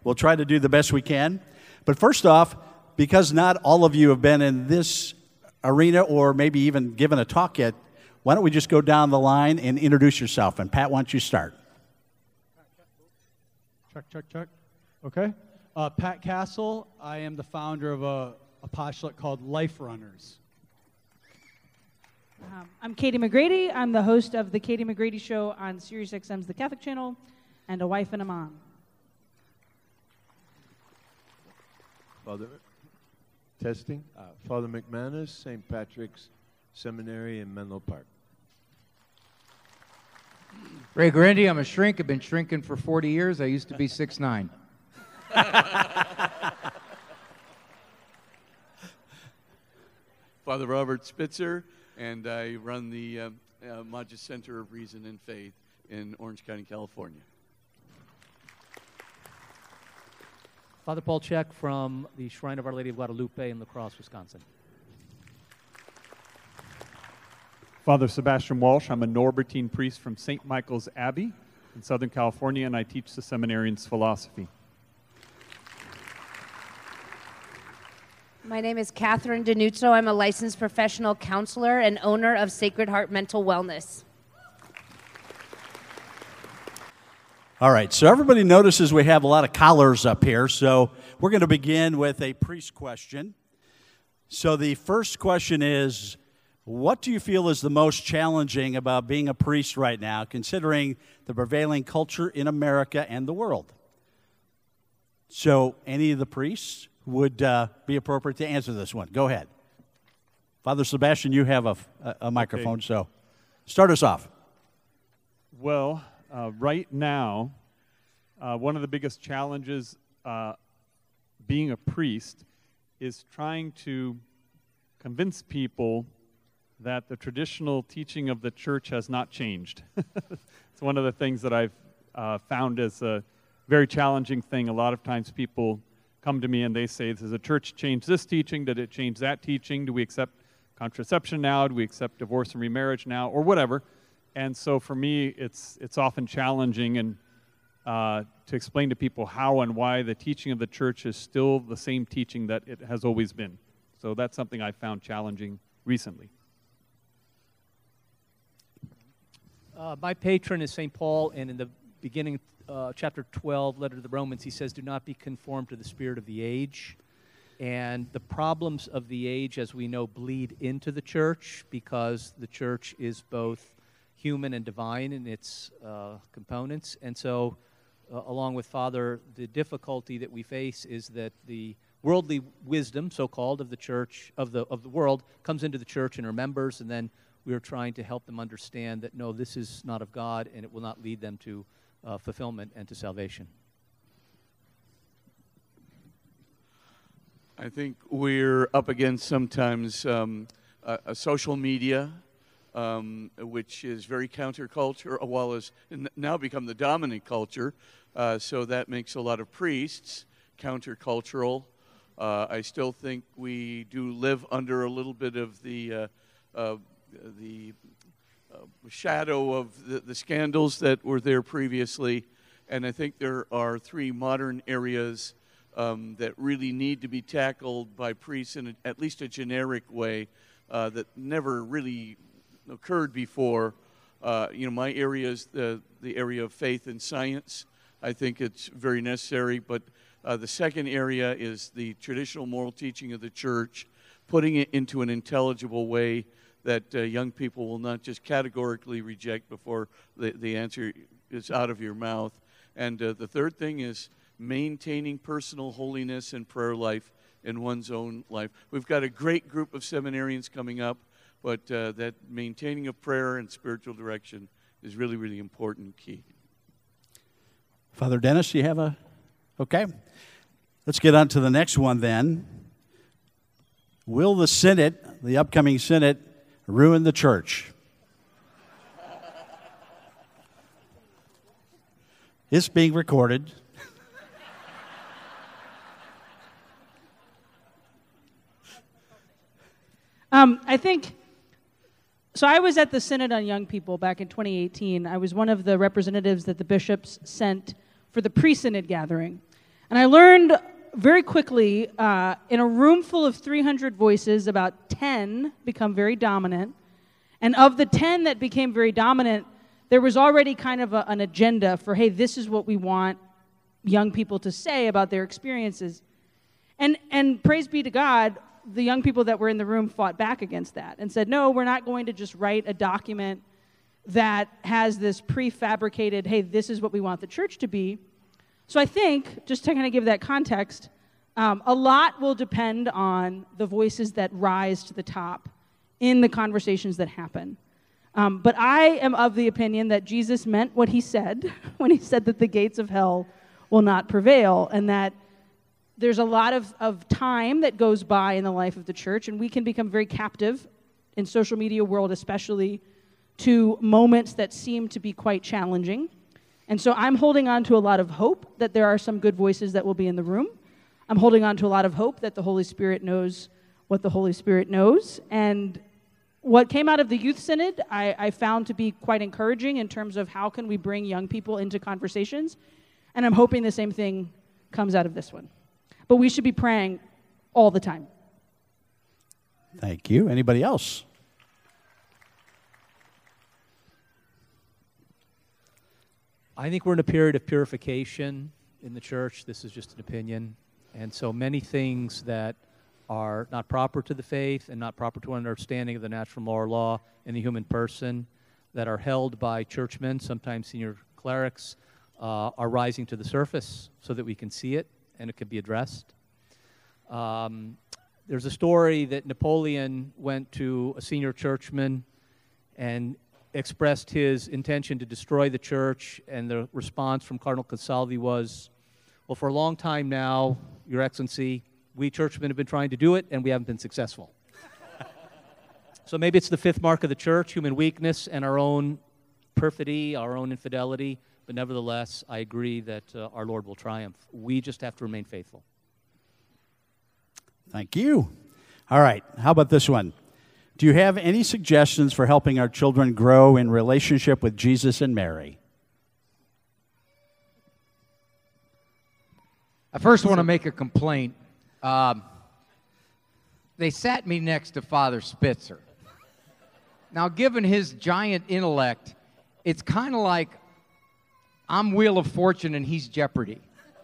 We'll try to do the best we can. But first off, because not all of you have been in this arena or maybe even given a talk yet, why don't we just go down the line and introduce yourself? And Pat, why don't you start? Check. Okay. Pat Castle. I am the founder of a postulate called Life Runners. I'm Katie McGrady. I'm the host of the Katie McGrady Show on SiriusXM's The Catholic Channel, and a wife and a mom. Father, testing. Father McManus, St. Patrick's Seminary in Menlo Park. Ray Grandy, I'm a shrink. I've been shrinking for 40 years. I used to be 6'9". Father Robert Spitzer, and I run the Magis Center of Reason and Faith in Orange County, California. Father Paul Check from the Shrine of Our Lady of Guadalupe in La Crosse, Wisconsin. Father Sebastian Walsh. I'm a Norbertine priest from St. Michael's Abbey in Southern California, and I teach the seminarians philosophy. My name is Catherine Denuzzo. I'm a licensed professional counselor and owner of Sacred Heart Mental Wellness. All right, so everybody notices we have a lot of collars up here, so we're going to begin with a priest question. So the first question is, what do you feel is the most challenging about being a priest right now, considering the prevailing culture in America and the world? So any of the priests would be appropriate to answer this one. Go ahead. Father Sebastian, you have a microphone, okay. So start us off. Well, right now, one of the biggest challenges being a priest is trying to convince people that the traditional teaching of the church has not changed. It's one of the things that I've found as a very challenging thing. A lot of times people come to me and they say, does the church change this teaching? Did it change that teaching? Do we accept contraception now? Do we accept divorce and remarriage now? Or whatever. And so for me, it's often challenging and to explain to people how and why the teaching of the church is still the same teaching that it has always been. So that's something I found challenging recently. My patron is St. Paul, and in the beginning, chapter 12, letter to the Romans, he says, do not be conformed to the spirit of the age. And the problems of the age, as we know, bleed into the church because the church is both human and divine in its components. And so, along with Father, the difficulty that we face is that the worldly wisdom, so-called, of the church, of the world, comes into the church and her members, and then we are trying to help them understand that, no, this is not of God, and it will not lead them to fulfillment and to salvation. I think we're up against sometimes a social media, which is very counterculture, while has now become the dominant culture. So that makes a lot of priests countercultural. I still think we do live under a little bit of the shadow of the scandals that were there previously. And I think there are three modern areas that really need to be tackled by priests in at least a generic way that never really occurred before. My area is the area of faith and science. I think it's very necessary. But the second area is the traditional moral teaching of the church, putting it into an intelligible way that young people will not just categorically reject before the answer is out of your mouth. And the third thing is maintaining personal holiness and prayer life in one's own life. We've got a great group of seminarians coming up, but that maintaining of prayer and spiritual direction is really, really important key. Father Dennis, you have a... Okay. Let's get on to the next one then. Will the Synod, the upcoming Synod, ruin the church? It's being recorded. I think, so I was at the Synod on Young People back in 2018. I was one of the representatives that the bishops sent for the pre-Synod gathering. And I learned very quickly, in a room full of 300 voices, about 10 become very dominant. And of the 10 that became very dominant, there was already kind of an agenda for, hey, this is what we want young people to say about their experiences. And praise be to God, the young people that were in the room fought back against that and said, no, we're not going to just write a document that has this prefabricated, hey, this is what we want the church to be. So I think, just to kind of give that context, a lot will depend on the voices that rise to the top in the conversations that happen. But I am of the opinion that Jesus meant what he said when he said that the gates of hell will not prevail, and that there's a lot of time that goes by in the life of the church, and we can become very captive in social media world especially to moments that seem to be quite challenging. And so I'm holding on to a lot of hope that there are some good voices that will be in the room. I'm holding on to a lot of hope that the Holy Spirit knows what the Holy Spirit knows. And what came out of the Youth Synod, I found to be quite encouraging in terms of how can we bring young people into conversations. And I'm hoping the same thing comes out of this one. But we should be praying all the time. Thank you. Anybody else? I think we're in a period of purification in the church. This is just an opinion. And so many things that are not proper to the faith and not proper to an understanding of the natural moral law in the human person that are held by churchmen, sometimes senior clerics, are rising to the surface so that we can see it and it can be addressed. There's a story that Napoleon went to a senior churchman and expressed his intention to destroy the church, and the response from Cardinal Consalvi was, well, for a long time now, Your Excellency, we churchmen have been trying to do it, and we haven't been successful. So maybe it's the fifth mark of the church, human weakness and our own perfidy, our own infidelity, but nevertheless, I agree that our Lord will triumph. We just have to remain faithful. Thank you. All right, how about this one? Do you have any suggestions for helping our children grow in relationship with Jesus and Mary? I first want to make a complaint. They sat me next to Father Spitzer. Now, given his giant intellect, it's kind of like I'm Wheel of Fortune and he's Jeopardy.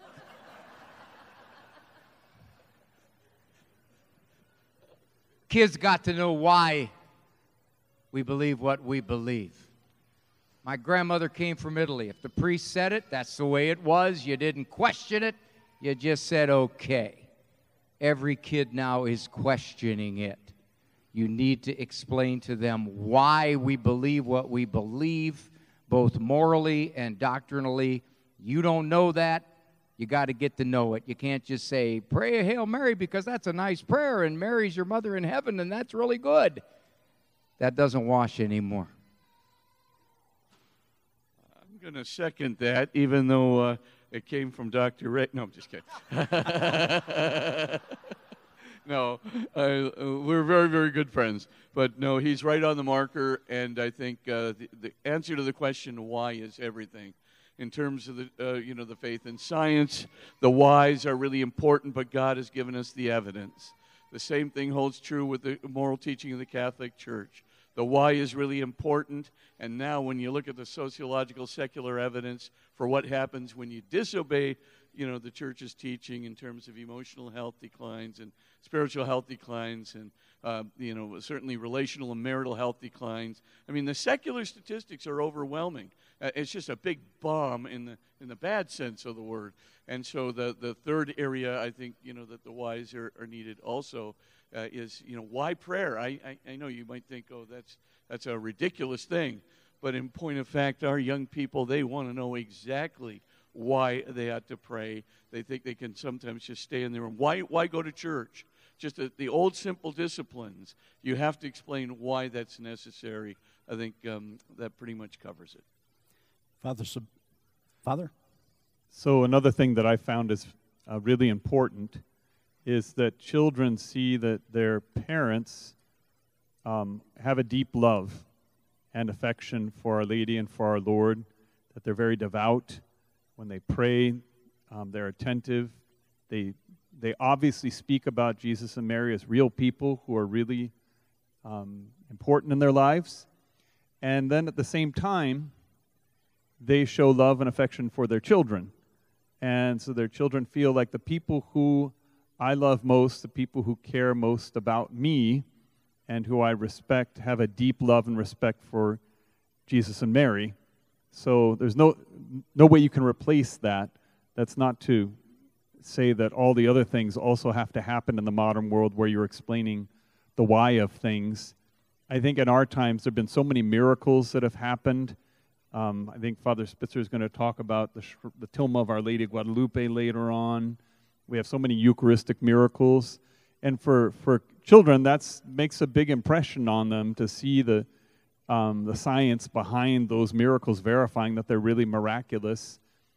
Kids got to know why we believe what we believe. My grandmother came from Italy. If the priest said it, that's the way it was. You didn't question it. You just said, okay. Every kid now is questioning it. You need to explain to them why we believe what we believe, both morally and doctrinally. You don't know that. You got to get to know it. You can't just say, pray a Hail Mary because that's a nice prayer and Mary's your mother in heaven and that's really good. That doesn't wash anymore. I'm going to second that, even though it came from Dr. Ray. No, I'm just kidding. No, we're very, very good friends. But no, he's right on the marker, and I think the answer to the question why is everything. In terms of the the faith and science, the whys are really important, but God has given us the evidence. The same thing holds true with the moral teaching of the Catholic Church. The why is really important, and now when you look at the sociological secular evidence for what happens when you disobey, the Church's teaching in terms of emotional health declines and spiritual health declines and, certainly relational and marital health declines. I mean, the secular statistics are overwhelming. It's just a big bomb in the bad sense of the word. And so the third area, I think, that the whys are needed also is, why prayer? I know you might think, oh, that's a ridiculous thing. But in point of fact, our young people, they want to know exactly why they ought to pray. They think they can sometimes just stay in their room. Why go to church? Just the old simple disciplines. You have to explain why that's necessary. I think that pretty much covers it. Father? So another thing that I found is really important is that children see that their parents have a deep love and affection for Our Lady and for our Lord, that they're very devout. When they pray, They're attentive. They obviously speak about Jesus and Mary as real people who are really important in their lives. And then at the same time, they show love and affection for their children. And so their children feel like the people who I love most, the people who care most about me and who I respect, have a deep love and respect for Jesus and Mary. So there's no way you can replace that. That's not to say that all the other things also have to happen in the modern world where you're explaining the why of things. I think in our times there have been so many miracles that have happened. I think Father Spitzer is going to talk about the Tilma of Our Lady of Guadalupe later on. We have so many Eucharistic miracles. And for children, that makes a big impression on them to see the science behind those miracles verifying that they're really miraculous.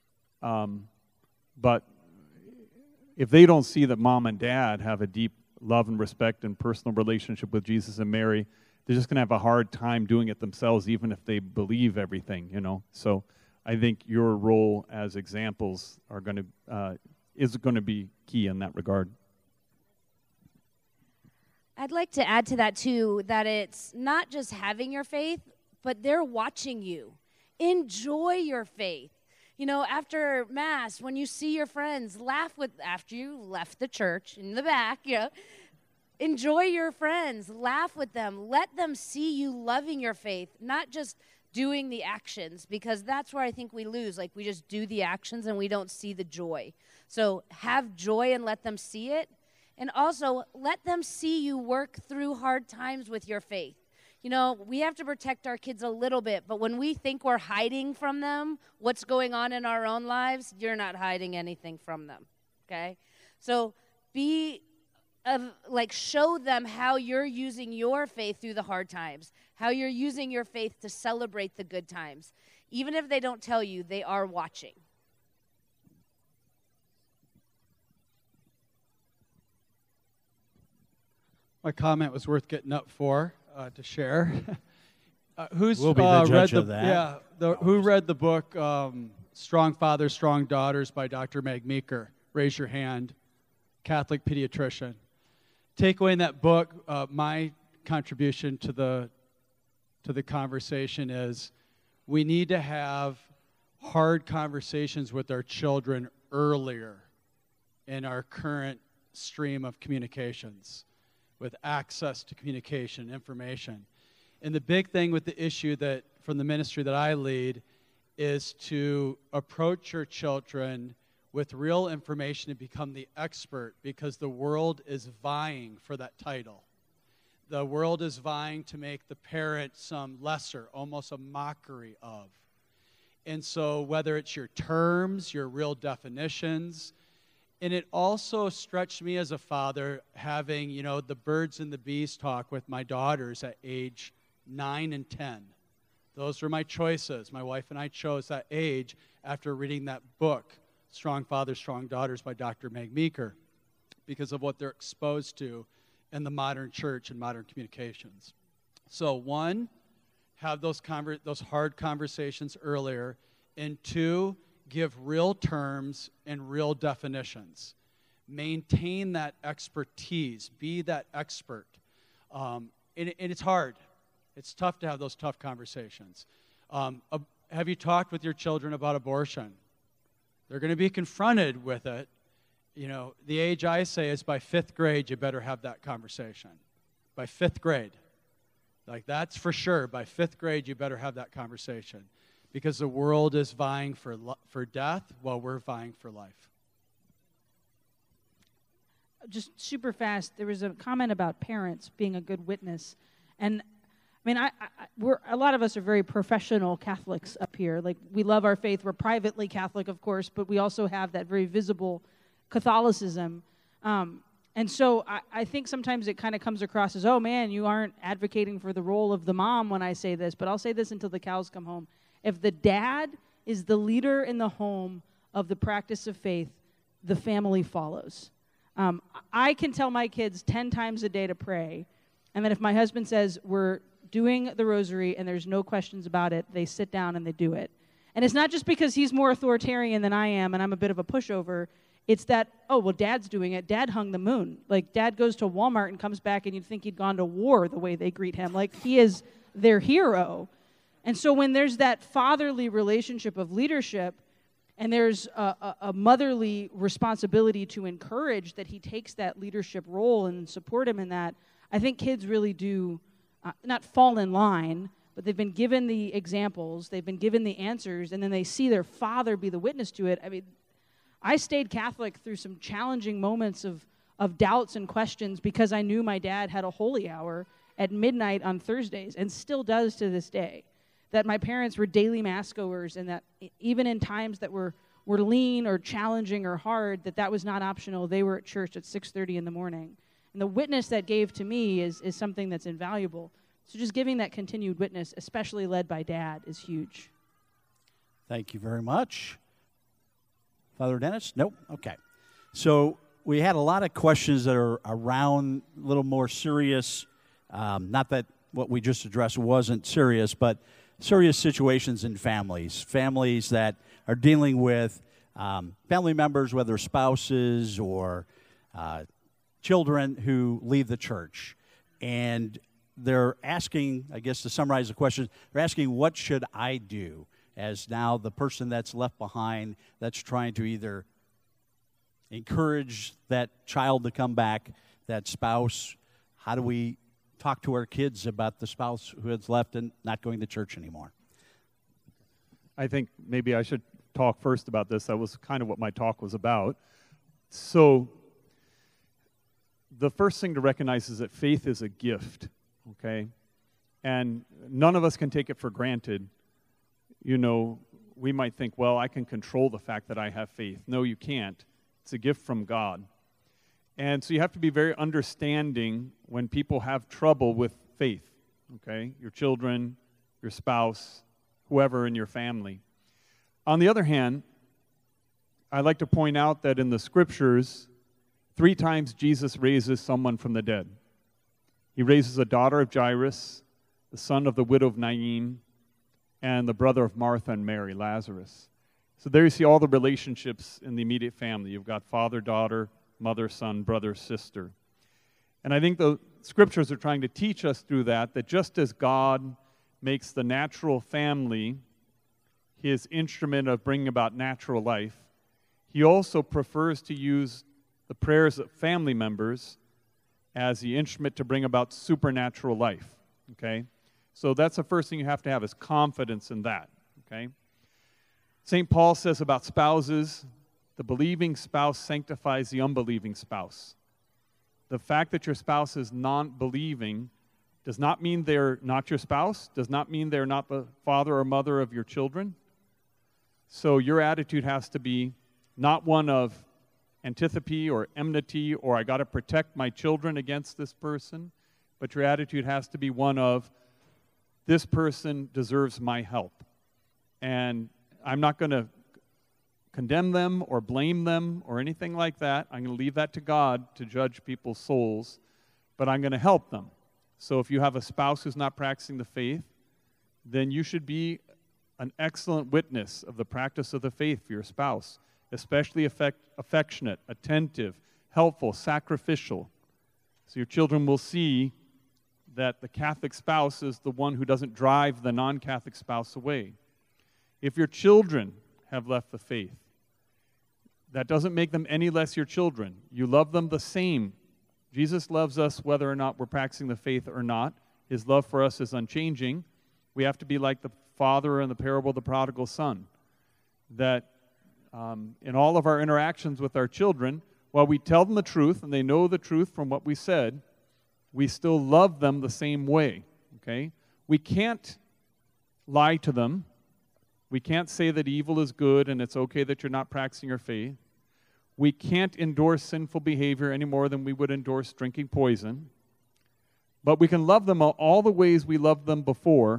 But if they don't see that mom and dad have a deep love and respect and personal relationship with Jesus and Mary, they're just going to have a hard time doing it themselves, even if they believe everything, So I think your role as examples is going to be key in that regard. I'd like to add to that, too, that it's not just having your faith, but they're watching you. Enjoy your faith. After Mass, when you see your friends, after you left the church in the back, enjoy your friends, laugh with them, let them see you loving your faith, not just doing the actions, because that's where I think we lose. Like, we just do the actions and we don't see the joy. So have joy and let them see it. And also, let them see you work through hard times with your faith. We have to protect our kids a little bit, but when we think we're hiding from them what's going on in our own lives, you're not hiding anything from them, okay? So show them how you're using your faith through the hard times, how you're using your faith to celebrate the good times. Even if they don't tell you, they are watching. My comment was worth getting up for to share. Who's we'll be the judge read of that. Who read the book Strong Fathers, Strong Daughters by Dr. Meg Meeker? Raise your hand. Catholic pediatrician. Takeaway in that book, my contribution to the conversation is we need to have hard conversations with our children earlier in our current stream of communications, with access to communication, information. And the big thing with the issue that from the ministry that I lead is to approach your children with real information and become the expert, because the world is vying for that title. The world is vying to make the parent some lesser, almost a mockery of. And so whether it's your terms, your real definitions, and it also stretched me as a father having, the birds and the bees talk with my daughters at age 9 and 10. Those were my choices. My wife and I chose that age after reading that book, Strong Fathers, Strong Daughters by Dr. Meg Meeker, because of what they're exposed to in the modern church and modern communications. So one, have those hard conversations earlier, and two, give real terms and real definitions. Maintain that expertise. Be that expert. And it's hard. It's tough to have those tough conversations. Have you talked with your children about abortion? They're going to be confronted with it. The age I say is by 5th grade, you better have that conversation. By 5th grade. Like, that's for sure. By 5th grade, you better have that conversation. Because the world is vying for death while we're vying for life. Just super fast, there was a comment about parents being a good witness. And we're a lot of us are very professional Catholics up here. Like, we love our faith. We're privately Catholic, of course, but we also have that very visible Catholicism. And so I think sometimes it kind of comes across as, oh man, you aren't advocating for the role of the mom when I say this, but I'll say this until the cows come home. If the dad is the leader in the home of the practice of faith, the family follows. I can tell my kids 10 times a day to pray, and then if my husband says we're doing the rosary and there's no questions about it, they sit down and they do it. And it's not just because he's more authoritarian than I am and I'm a bit of a pushover. It's that, oh, well, Dad's doing it. Dad hung the moon. Like, Dad goes to Walmart and comes back and you'd think he'd gone to war the way they greet him. Like, he is their hero. And so when there's that fatherly relationship of leadership and there's a motherly responsibility to encourage that he takes that leadership role and support him in that, I think kids really do not fall in line, but they've been given the examples, they've been given the answers, and then they see their father be the witness to it. I mean, I stayed Catholic through some challenging moments of doubts and questions because I knew my dad had a holy hour at midnight on Thursdays and still does to this day. That my parents were daily mass goers and that even in times that were lean or challenging or hard, that was not optional. They were at church at 6:30 in the morning. And the witness that gave to me is something that's invaluable. So just giving that continued witness, especially led by Dad, is huge. Thank you very much. Father Dennis? Nope? Okay. So we had a lot of questions that are around a little more serious, not that what we just addressed wasn't serious, but serious situations in families that are dealing with family members, whether spouses or children who leave the church. And they're asking, I guess to summarize the question, they're asking, what should I do as now the person that's left behind that's trying to either encourage that child to come back, that spouse? How do we talk to our kids about the spouse who has left and not going to church anymore? I think maybe I should talk first about this. That was kind of what my talk was about. So the first thing to recognize is that faith is a gift, okay? And none of us can take it for granted. You know, we might think, well, I can control the fact that I have faith. No, you can't. It's a gift from God. And so you have to be very understanding when people have trouble with faith, okay? Your children, your spouse, whoever in your family. On the other hand, I'd like to point out that in the Scriptures, 3 times Jesus raises someone from the dead. He raises a daughter of Jairus, the son of the widow of Nain, and the brother of Martha and Mary, Lazarus. So there you see all the relationships in the immediate family. You've got father, daughter, mother, son, brother, sister. And I think the Scriptures are trying to teach us through that just as God makes the natural family his instrument of bringing about natural life, he also prefers to use the prayers of family members as the instrument to bring about supernatural life, okay? So that's the first thing you have to have is confidence in that, okay? St. Paul says about spouses, the believing spouse sanctifies the unbelieving spouse. The fact that your spouse is non-believing does not mean they're not your spouse, does not mean they're not the father or mother of your children. So your attitude has to be not one of antipathy or enmity or I got to protect my children against this person, but your attitude has to be one of this person deserves my help. And I'm not going to condemn them or blame them or anything like that. I'm going to leave that to God to judge people's souls, but I'm going to help them. So if you have a spouse who's not practicing the faith, then you should be an excellent witness of the practice of the faith for your spouse, especially affectionate, attentive, helpful, sacrificial. So your children will see that the Catholic spouse is the one who doesn't drive the non-Catholic spouse away. If your children have left the faith, that doesn't make them any less your children. You love them the same. Jesus loves us whether or not we're practicing the faith or not. His love for us is unchanging. We have to be like the father in the parable of the prodigal son, that in all of our interactions with our children, while we tell them the truth and they know the truth from what we said, we still love them the same way, okay? We can't lie to them. We can't say that evil is good and it's okay that you're not practicing your faith. We can't endorse sinful behavior any more than we would endorse drinking poison. But we can love them all the ways we loved them before.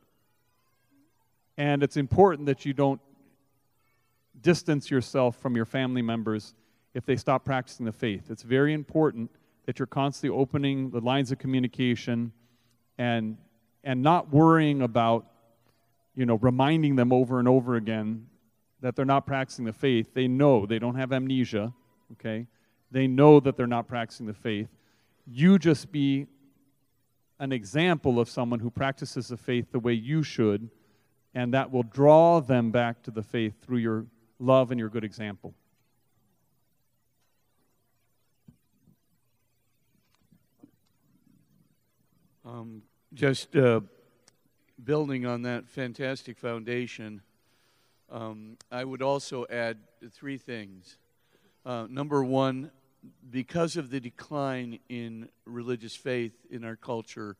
And it's important that you don't distance yourself from your family members if they stop practicing the faith. It's very important that you're constantly opening the lines of communication and not worrying about reminding them over and over again that they're not practicing the faith. They know, they don't have amnesia, okay? They know that they're not practicing the faith. You just be an example of someone who practices the faith the way you should, and that will draw them back to the faith through your love and your good example. Just building on that fantastic foundation, I would also add three things. Number one, because of the decline in religious faith in our culture,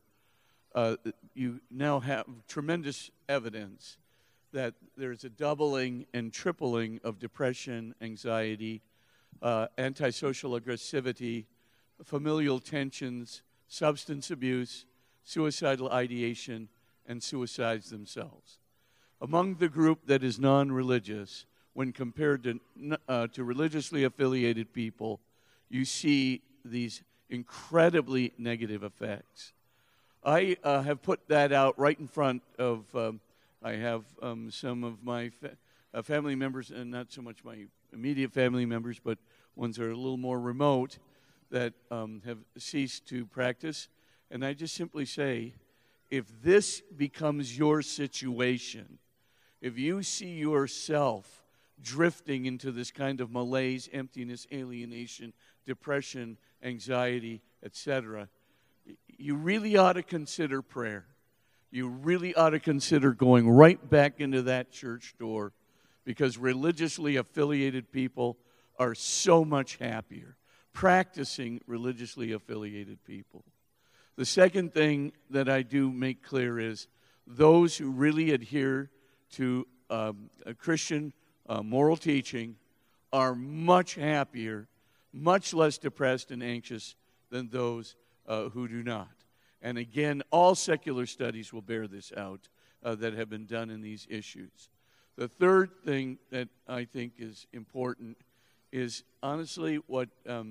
you now have tremendous evidence that there's a doubling and tripling of depression, anxiety, antisocial aggressivity, familial tensions, substance abuse, suicidal ideation, and suicides themselves. Among the group that is non-religious, when compared to religiously affiliated people, you see these incredibly negative effects. I have put that out right in front of, I have some of my family members, and not so much my immediate family members, but ones that are a little more remote, that have ceased to practice. And I just simply say, if this becomes your situation, if you see yourself drifting into this kind of malaise, emptiness, alienation, depression, anxiety, etc., you really ought to consider prayer. You really ought to consider going right back into that church door, because religiously affiliated people are so much happier practicing religiously affiliated people. The second thing that I do make clear is those who really adhere to a Christian moral teaching are much happier, much less depressed and anxious than those who do not. And again, all secular studies will bear this out that have been done in these issues. The third thing that I think is important is honestly what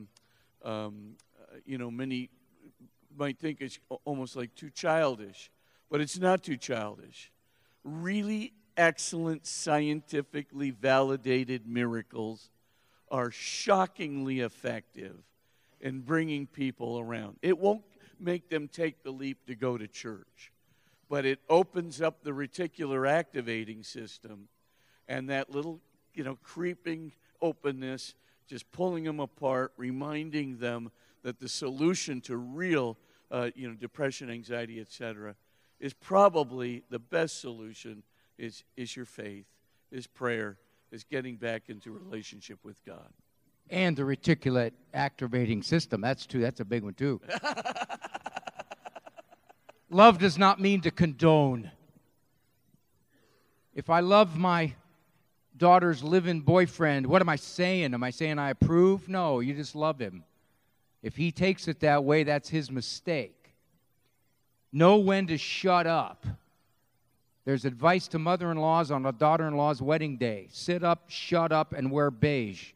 many might think is almost like too childish, but it's not too childish. Really excellent, scientifically validated miracles are shockingly effective in bringing people around. It won't make them take the leap to go to church, but it opens up the reticular activating system, and that little, creeping openness, just pulling them apart, reminding them that the solution to real, depression, anxiety, etc., is probably the best solution is your faith, is prayer, is getting back into relationship with God. And the reticulate activating system. That's a big one, too. Love does not mean to condone. If I love my daughter's live-in boyfriend, what am I saying? Am I saying I approve? No, you just love him. If he takes it that way, that's his mistake. Know when to shut up. There's advice to mother-in-laws on a daughter-in-law's wedding day. Sit up, shut up, and wear beige.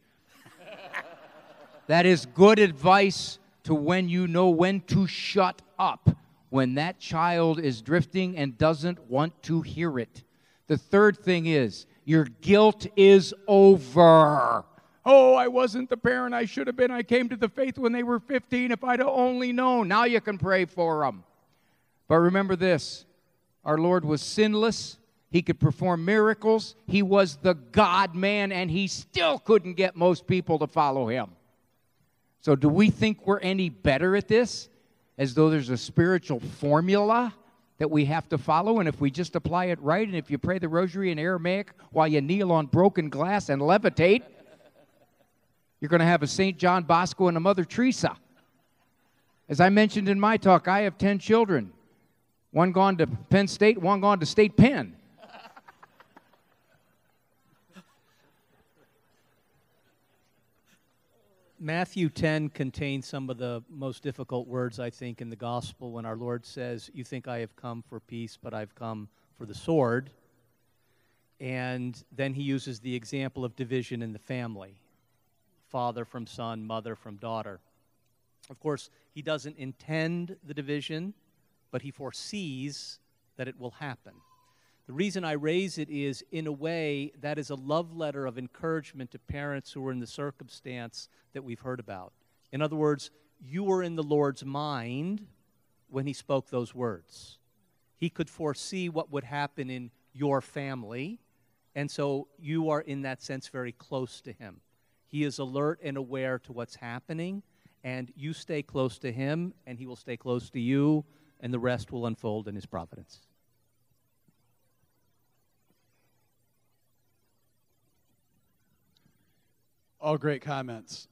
That is good advice to when you know when to shut up, when that child is drifting and doesn't want to hear it. The third thing is, your guilt is over. Oh, I wasn't the parent I should have been. I came to the faith when they were 15. If I'd have only known. Now you can pray for them. But remember this. Our Lord was sinless. He could perform miracles. He was the God-man, and he still couldn't get most people to follow him. So do we think we're any better at this? As though there's a spiritual formula that we have to follow, and if we just apply it right, and if you pray the rosary in Aramaic while you kneel on broken glass and levitate, you're going to have a St. John Bosco and a Mother Teresa. As I mentioned in my talk, I have 10 children. One gone to Penn State, one gone to State Penn. Matthew 10 contains some of the most difficult words, I think, in the gospel when our Lord says, "You think I have come for peace, but I've come for the sword." And then he uses the example of division in the family. Father from son, mother from daughter. Of course, he doesn't intend the division, but he foresees that it will happen. The reason I raise it is, in a way, that is a love letter of encouragement to parents who are in the circumstance that we've heard about. In other words, you were in the Lord's mind when he spoke those words. He could foresee what would happen in your family, and so you are, in that sense, very close to him. He is alert and aware to what's happening, and you stay close to him, and he will stay close to you, and the rest will unfold in his providence. All great comments.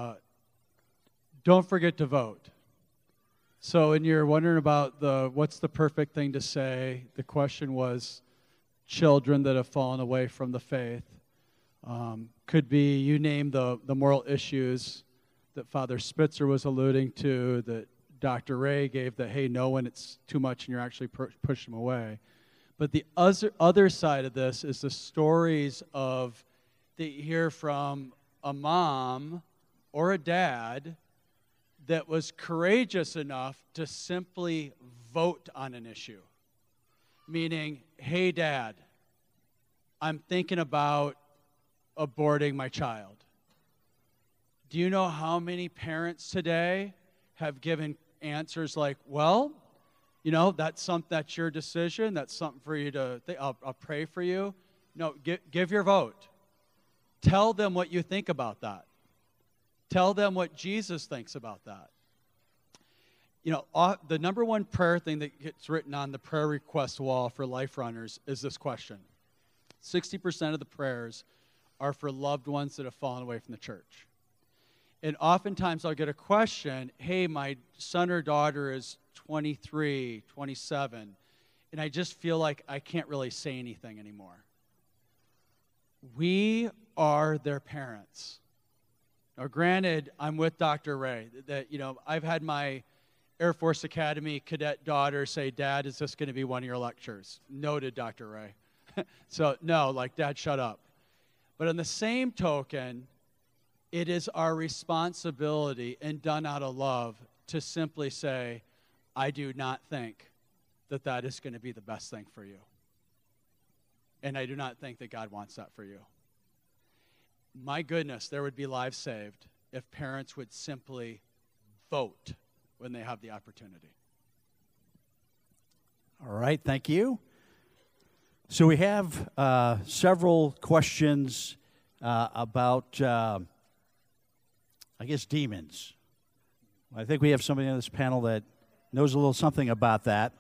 Don't forget to vote. So when you're wondering about what's the perfect thing to say, the question was children that have fallen away from the faith. Could be, you name the moral issues that Father Spitzer was alluding to, that Dr. Ray gave, that, hey, no, when it's too much and you're actually pushing them away. But the other side of this is the stories of that you hear from a mom or a dad that was courageous enough to simply vote on an issue. Meaning, hey, Dad, I'm thinking about aborting my child. Do you know how many parents today have given answers like, well, you know, that's your decision. That's something for you to think. I'll pray for you. No, give your vote. Tell them what you think about that. Tell them what Jesus thinks about that. You know, the number one prayer thing that gets written on the prayer request wall for Life Runners is this question. 60% of the prayers are for loved ones that have fallen away from the church. And oftentimes I'll get a question, hey, my son or daughter is 23, 27, and I just feel like I can't really say anything anymore. We are their parents. Now, granted, I'm with Dr. Ray. That, you know, I've had my Air Force Academy cadet daughter say, Dad, is this going to be one of your lectures? Noted, Dr. Ray. So, no, like, Dad, shut up. But on the same token, it is our responsibility, and done out of love, to simply say, I do not think that that is going to be the best thing for you. And I do not think that God wants that for you. My goodness, there would be lives saved if parents would simply vote when they have the opportunity. All right, thank you. So we have several questions about, I guess, demons. I think we have somebody on this panel that knows a little something about that.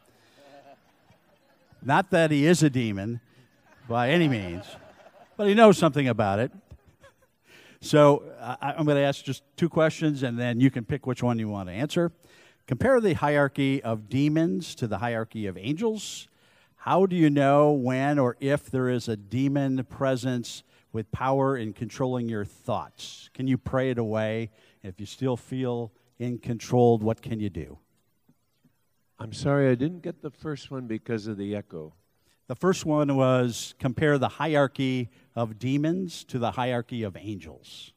Not that he is a demon by any means, but he knows something about it. So I'm going to ask just two questions, and then you can pick which one you want to answer. Compare the hierarchy of demons to the hierarchy of angels. How do you know when or if there is a demon presence with power in controlling your thoughts? Can you pray it away? If you still feel uncontrolled, what can you do? I'm sorry, I didn't get the first one because of the echo. The first one was compare the hierarchy of demons to the hierarchy of angels.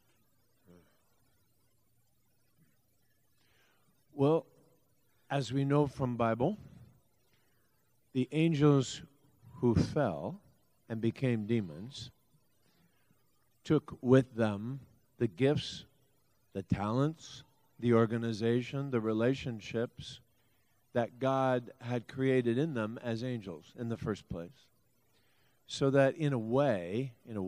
Well, as we know from Bible, the angels who fell and became demons took with them the gifts, the talents, the organization, the relationships that God had created in them as angels in the first place. So that in a way,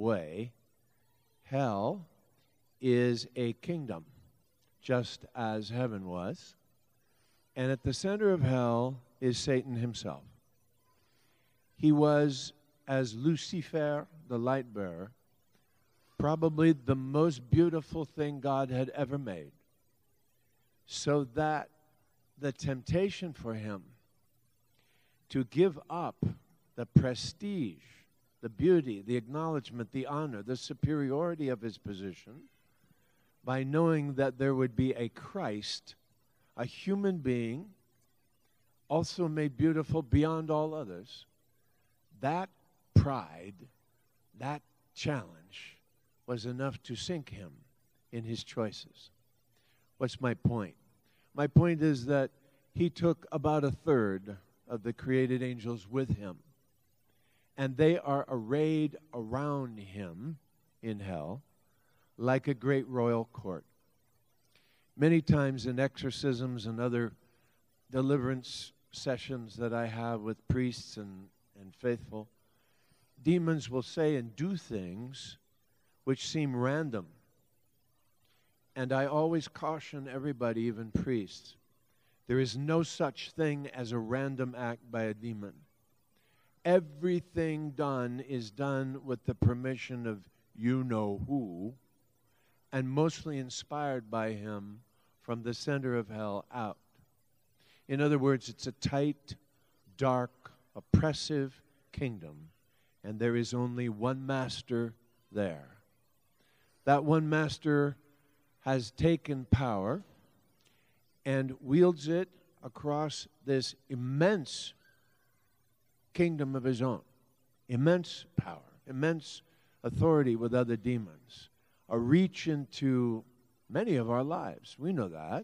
hell is a kingdom, just as heaven was. And at the center of hell is Satan himself. He was, as Lucifer, the light bearer, probably the most beautiful thing God had ever made. So that the temptation for him to give up the prestige, the beauty, the acknowledgement, the honor, the superiority of his position by knowing that there would be a Christ, a human being, also made beautiful beyond all others, that pride, that challenge was enough to sink him in his choices. What's my point? My point is that he took about a third of the created angels with him and they are arrayed around him in hell like a great royal court. Many times in exorcisms and other deliverance sessions that I have with priests and faithful, demons will say and do things which seem random. And I always caution everybody, even priests, there is no such thing as a random act by a demon. Everything done is done with the permission of you-know-who, and mostly inspired by him from the center of hell out. In other words, it's a tight, dark, oppressive kingdom, and there is only one master there. That one master has taken power and wields it across this immense kingdom of his own. Immense power, immense authority with other demons, a reach into many of our lives. We know that.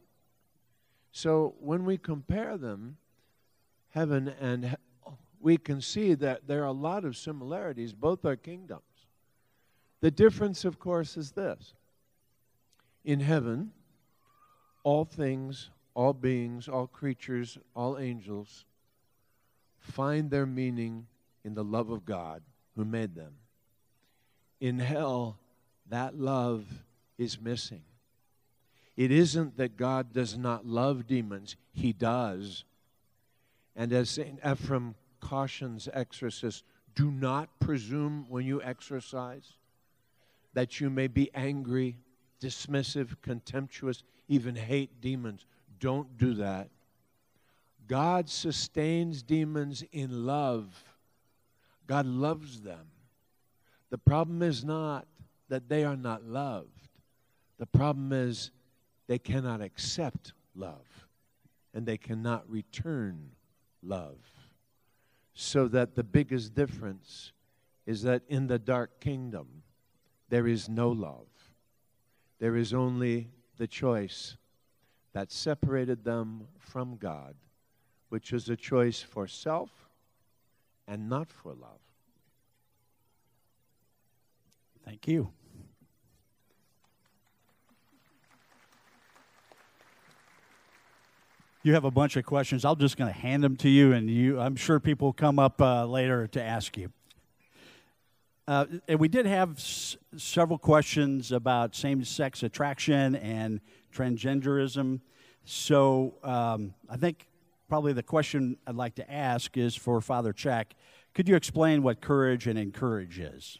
So when we compare them, heaven and hell, we can see that there are a lot of similarities. Both are kingdoms. The difference, of course, is this. In heaven, all things, all beings, all creatures, all angels find their meaning in the love of God who made them. In hell, that love is missing. It isn't that God does not love demons. He does. And as St. Ephrem cautions exorcists, do not presume when you exorcise that you may be angry, dismissive, contemptuous, even hate demons. Don't do that. God sustains demons in love. God loves them. The problem is not that they are not loved. The problem is they cannot accept love, and they cannot return love. So that the biggest difference is that in the dark kingdom, there is no love. There is only the choice that separated them from God, which is a choice for self and not for love. Thank you. You have a bunch of questions. I'm just going to hand them to you, and I'm sure people will come up later to ask you. And we did have several questions about same-sex attraction and transgenderism. So I think probably the question I'd like to ask is for Father Czech. Could you explain what Courage and Encourage is?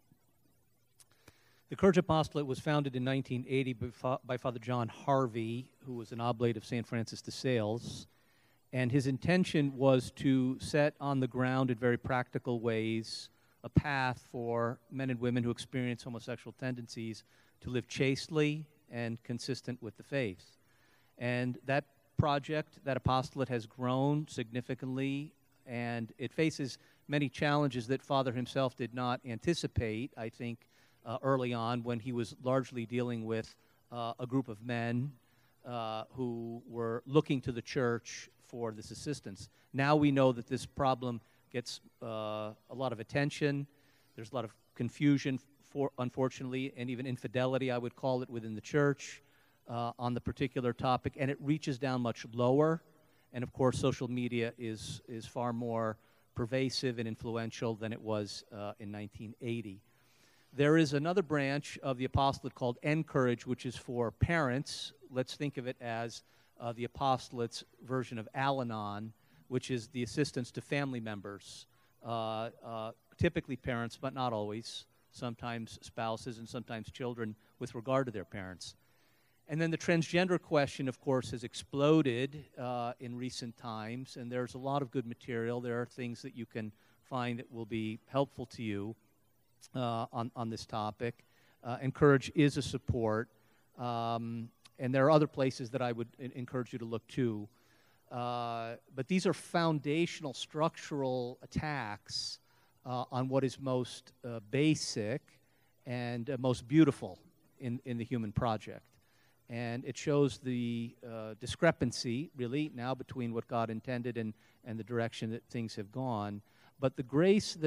The Courage Apostolate was founded in 1980 by Father John Harvey, who was an oblate of St. Francis de Sales. And his intention was to set on the ground in very practical ways a path for men and women who experience homosexual tendencies to live chastely and consistent with the faith. And that project, that apostolate, has grown significantly, and it faces many challenges that Father himself did not anticipate, I think, early on, when he was largely dealing with a group of men who were looking to the church for this assistance. Now we know that this problem gets a lot of attention. There's a lot of confusion, unfortunately, and even infidelity, I would call it, within the church on the particular topic, and it reaches down much lower. And of course, social media is far more pervasive and influential than it was in 1980. There is another branch of the apostolate called Encourage, which is for parents. Let's think of it as the apostolate's version of Al-Anon, which is the assistance to family members, typically parents, but not always, sometimes spouses and sometimes children with regard to their parents. And then the transgender question, of course, has exploded in recent times, and there's a lot of good material. There are things that you can find that will be helpful to you on this topic. Encourage is a support, and there are other places that I would encourage you to look to. But these are foundational, structural attacks on what is most basic and most beautiful in the human project. And it shows the discrepancy, really, now between what God intended and the direction that things have gone. But the grace that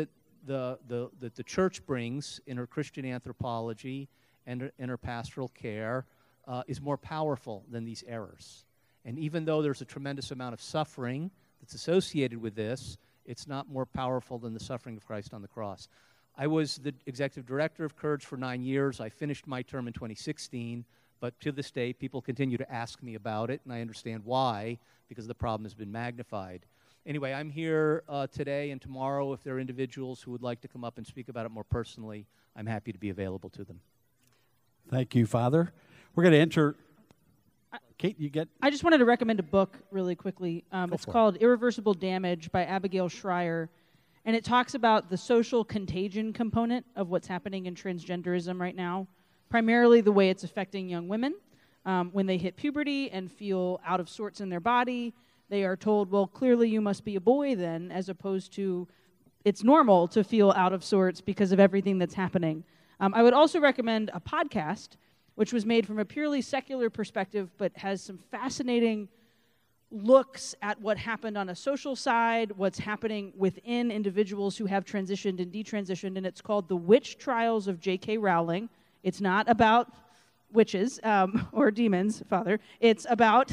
that the church brings in her Christian anthropology and in her pastoral care is more powerful than these errors. And even though there's a tremendous amount of suffering that's associated with this, it's not more powerful than the suffering of Christ on the cross. I was the executive director of Courage for 9 years. I finished my term in 2016, but to this day, people continue to ask me about it, and I understand why, because the problem has been magnified. Anyway, I'm here today and tomorrow. If there are individuals who would like to come up and speak about it more personally, I'm happy to be available to them. Thank you, Father. We're going to enter. Kate, you get. I just wanted to recommend a book really quickly. It's called Irreversible Damage by Abigail Schreier. And it talks about the social contagion component of what's happening in transgenderism right now, primarily the way it's affecting young women. When they hit puberty and feel out of sorts in their body, they are told, well, clearly you must be a boy then, as opposed to it's normal to feel out of sorts because of everything that's happening. I would also recommend a podcast, which was made from a purely secular perspective, but has some fascinating looks at what happened on a social side, what's happening within individuals who have transitioned and detransitioned, and it's called The Witch Trials of J.K. Rowling. It's not about witches or demons, Father. It's about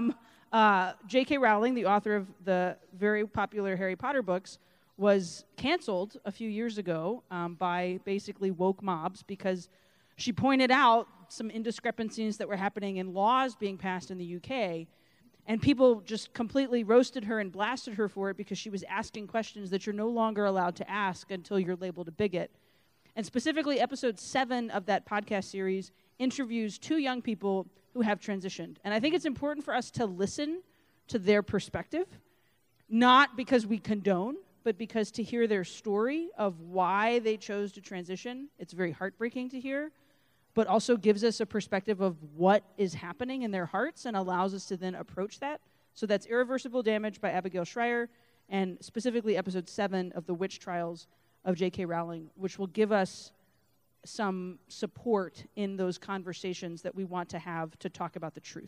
J.K. Rowling, the author of the very popular Harry Potter books, was canceled a few years ago by basically woke mobs because she pointed out some indiscrepancies that were happening in laws being passed in the UK, and people just completely roasted her and blasted her for it because she was asking questions that you're no longer allowed to ask until you're labeled a bigot. And specifically, episode 7 of that podcast series interviews 2 young people who have transitioned. And I think it's important for us to listen to their perspective, not because we condone, but because to hear their story of why they chose to transition. It's very heartbreaking to hear, but also gives us a perspective of what is happening in their hearts and allows us to then approach that. So that's Irreversible Damage by Abigail Schreier, and specifically episode 7 of The Witch Trials of J.K. Rowling, which will give us some support in those conversations that we want to have to talk about the truth.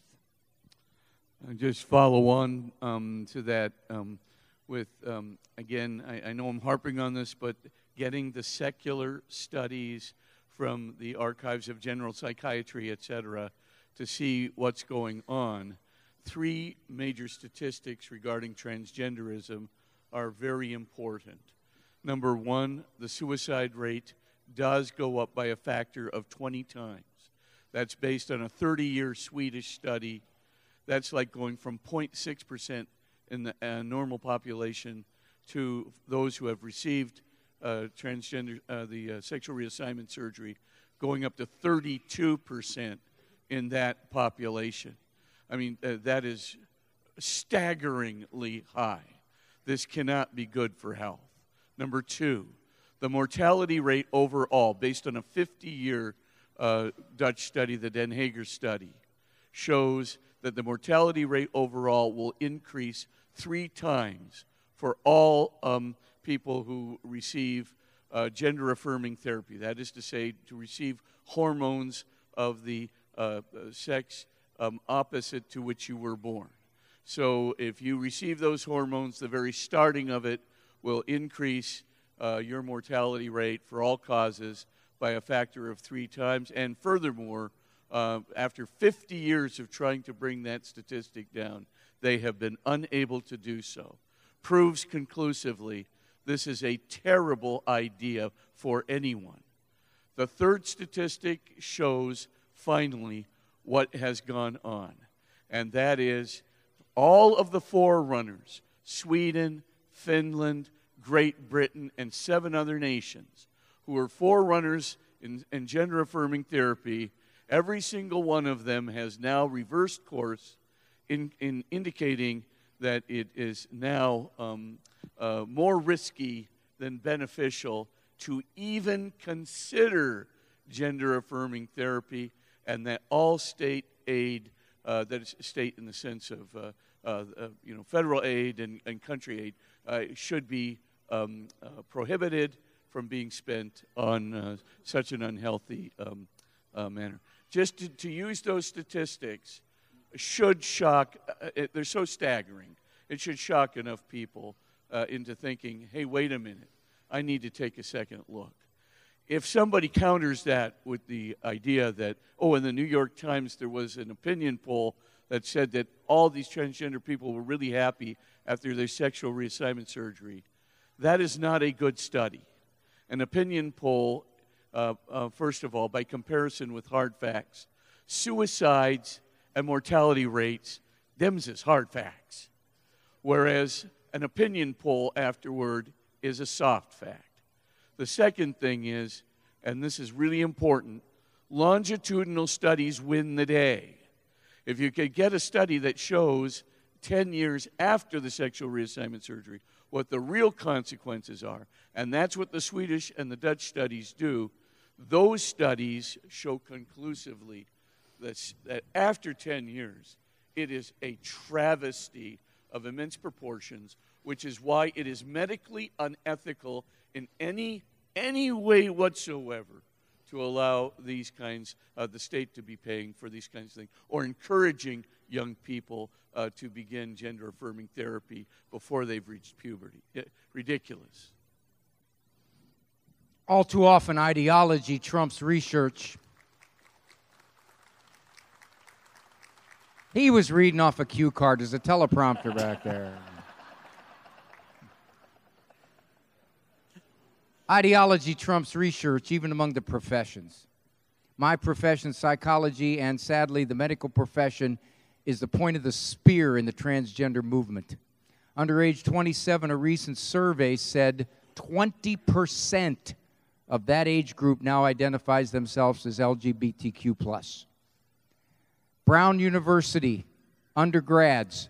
I just follow on to that with, again, I know I'm harping on this, but getting the secular studies from the archives of general psychiatry, et cetera, to see what's going on. 3 major statistics regarding transgenderism are very important. Number 1, the suicide rate does go up by a factor of 20 times. That's based on a 30-year Swedish study. That's like going from 0.6% in the normal population to those who have received the sexual reassignment surgery, going up to 32% in that population. I mean, that is staggeringly high. This cannot be good for health. Number 2, the mortality rate overall, based on a 50-year Dutch study, the Den Hager study, shows that the mortality rate overall will increase 3 times for all people who receive gender-affirming therapy. That is to say, to receive hormones of the sex opposite to which you were born. So if you receive those hormones, the very starting of it will increase your mortality rate for all causes by a factor of 3 times. And furthermore, after 50 years of trying to bring that statistic down, they have been unable to do so. Proves conclusively this is a terrible idea for anyone. The 3rd statistic shows, finally, what has gone on. And that is all of the forerunners, Sweden, Finland, Great Britain, and 7 other nations who were forerunners in gender-affirming therapy, every single one of them has now reversed course in indicating that it is now more risky than beneficial to even consider gender-affirming therapy, and that all state aid, that is state in the sense of federal aid and country aid, should be prohibited from being spent on such an unhealthy manner. Just to use those statistics should shock, they're so staggering, it should shock enough people into thinking, hey, wait a minute, I need to take a second look. If somebody counters that with the idea that, oh, in the New York Times there was an opinion poll that said that all these transgender people were really happy after their sexual reassignment surgery, that is not a good study. An opinion poll, first of all, by comparison with hard facts, suicides and mortality rates, them's is hard facts. Whereas an opinion poll afterward is a soft fact. The second thing is, and this is really important, longitudinal studies win the day. If you could get a study that shows 10 years after the sexual reassignment surgery what the real consequences are, and that's what the Swedish and the Dutch studies do, those studies show conclusively that after 10 years, it is a travesty of immense proportions, which is why it is medically unethical in any way whatsoever to allow these kinds, the state to be paying for these kinds of things, or encouraging young people to begin gender-affirming therapy before they've reached puberty. Ridiculous. All too often, ideology trumps research. He was reading off a cue card. There's a teleprompter back there. Ideology trumps research, even among the professions. My profession, psychology, and sadly, the medical profession, is the point of the spear in the transgender movement. Under age 27, a recent survey said 20% of that age group now identifies themselves as LGBTQ+. Brown University undergrads,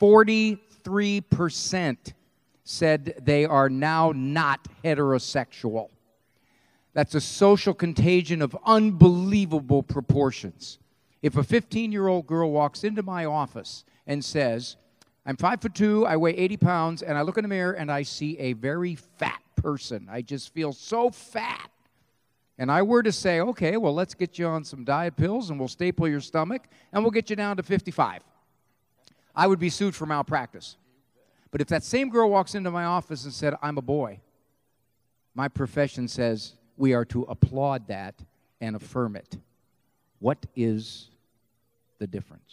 43% said they are now not heterosexual. That's a social contagion of unbelievable proportions. If a 15-year-old girl walks into my office and says, I'm 5'2", I weigh 80 pounds, and I look in the mirror and I see a very fat person. I just feel so fat. And I were to say, okay, well, let's get you on some diet pills and we'll staple your stomach and we'll get you down to 55. I would be sued for malpractice. But if that same girl walks into my office and said, I'm a boy, my profession says we are to applaud that and affirm it. What is the difference?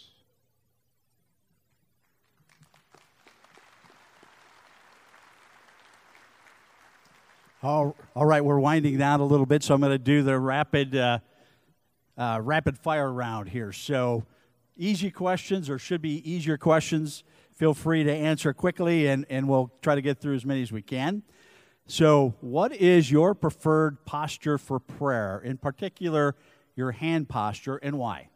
All right, we're winding down a little bit, so I'm going to do the rapid fire round here. So easy questions, or should be easier questions. Feel free to answer quickly, and we'll try to get through as many as we can. So what is your preferred posture for prayer, in particular your hand posture, and why?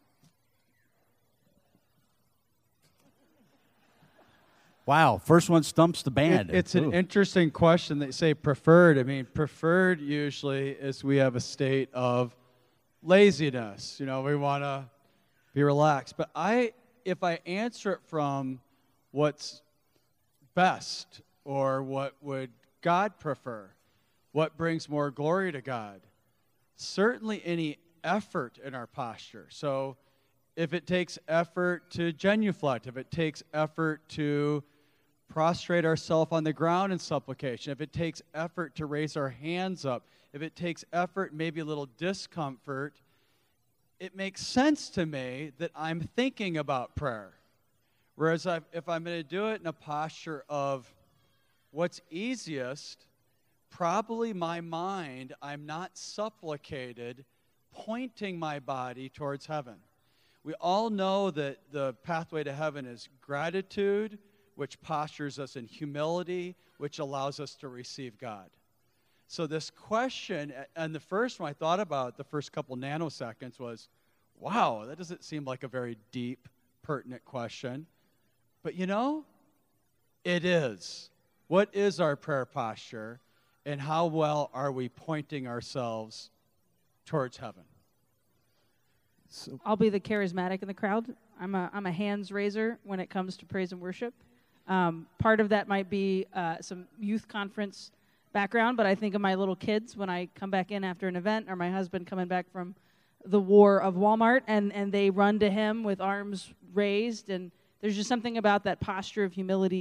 Wow, first one stumps the band. It's an interesting question. They say preferred. I mean, preferred usually is we have a state of laziness. You know, we want to be relaxed. But if I answer it from what's best, or what would God prefer, what brings more glory to God, certainly any effort in our posture. So if it takes effort to genuflect, if it takes effort to prostrate ourselves on the ground in supplication, if it takes effort to raise our hands up, if it takes effort, maybe a little discomfort, it makes sense to me that I'm thinking about prayer. Whereas if I'm going to do it in a posture of what's easiest, probably my mind, I'm not supplicated, pointing my body towards heaven. We all know that the pathway to heaven is gratitude, which postures us in humility, which allows us to receive God. So this question, and the first one I thought about, the first couple nanoseconds, was, wow, that doesn't seem like a very deep, pertinent question. But you know, it is. What is our prayer posture, and how well are we pointing ourselves towards heaven? So I'll be the charismatic in the crowd. I'm a hands raiser when it comes to praise and worship. Part of that might be some youth conference background, but I think of my little kids when I come back in after an event, or my husband coming back from the war of Walmart, and they run to him with arms raised, and there's just something about that posture of humility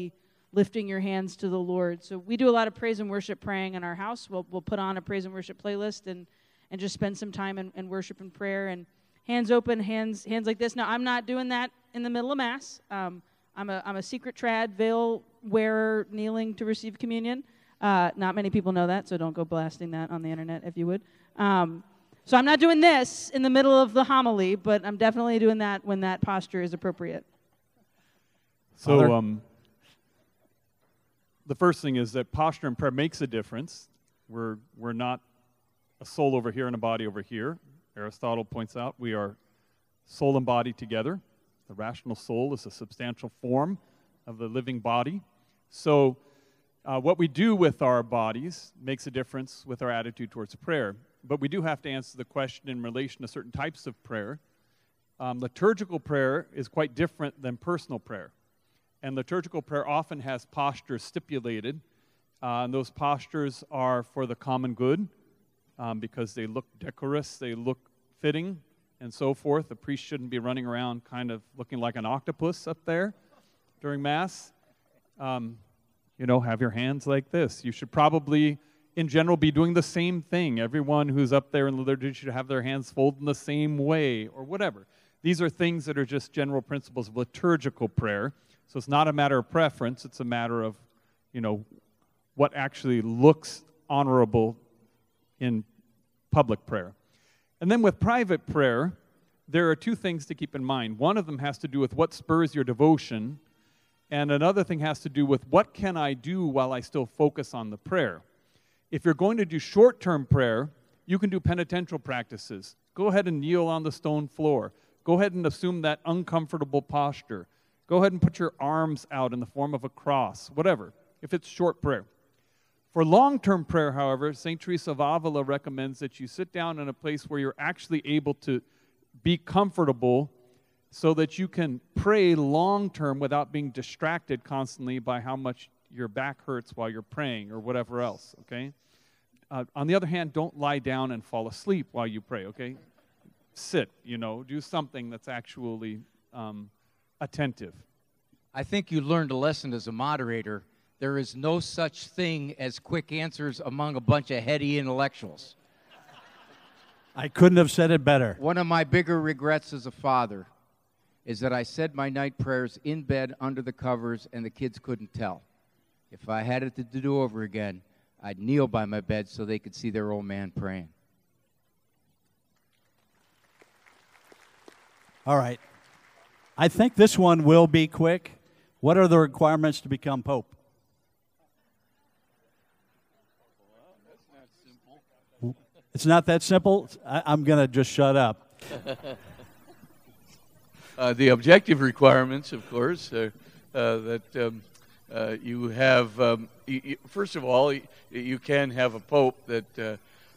lifting your hands to the Lord. So we do a lot of praise and worship praying in our house. We'll put on a praise and worship playlist and just spend some time in worship and prayer, and hands open, hands like this. Now, I'm not doing that in the middle of Mass. I'm a secret trad, veil wearer, kneeling to receive communion. Not many people know that, so don't go blasting that on the internet if you would. So I'm not doing this in the middle of the homily, but I'm definitely doing that when that posture is appropriate. So the first thing is that posture in prayer makes a difference. We're not a soul over here and a body over here. Aristotle points out we are soul and body together. The rational soul is a substantial form of the living body. So what we do with our bodies makes a difference with our attitude towards prayer. But we do have to answer the question in relation to certain types of prayer. Liturgical prayer is quite different than personal prayer. And liturgical prayer often has postures stipulated. And those postures are for the common good because they look decorous, they look fitting, and so forth. The priest shouldn't be running around kind of looking like an octopus up there during Mass. Have your hands like this. You should probably, in general, be doing the same thing. Everyone who's up there in the liturgy should have their hands folded in the same way, or whatever. These are things that are just general principles of liturgical prayer. So it's not a matter of preference. It's a matter of, what actually looks honorable in public prayer. And then with private prayer, there are two things to keep in mind. One of them has to do with what spurs your devotion, and another thing has to do with what can I do while I still focus on the prayer. If you're going to do short-term prayer, you can do penitential practices. Go ahead and kneel on the stone floor. Go ahead and assume that uncomfortable posture. Go ahead and put your arms out in the form of a cross, whatever, if it's short prayer. For long-term prayer, however, St. Teresa of Avila recommends that you sit down in a place where you're actually able to be comfortable so that you can pray long-term without being distracted constantly by how much your back hurts while you're praying or whatever else, okay? On the other hand, don't lie down and fall asleep while you pray, okay? Sit, do something that's actually attentive. I think you learned a lesson as a moderator. There is no such thing as quick answers among a bunch of heady intellectuals. I couldn't have said it better. One of my bigger regrets as a father is that I said my night prayers in bed under the covers and the kids couldn't tell. If I had it to do over again, I'd kneel by my bed so they could see their old man praying. All right. I think this one will be quick. What are the requirements to become Pope? It's not that simple? I'm going to just shut up. The objective requirements, of course, that you have, first of all, you can have a pope that,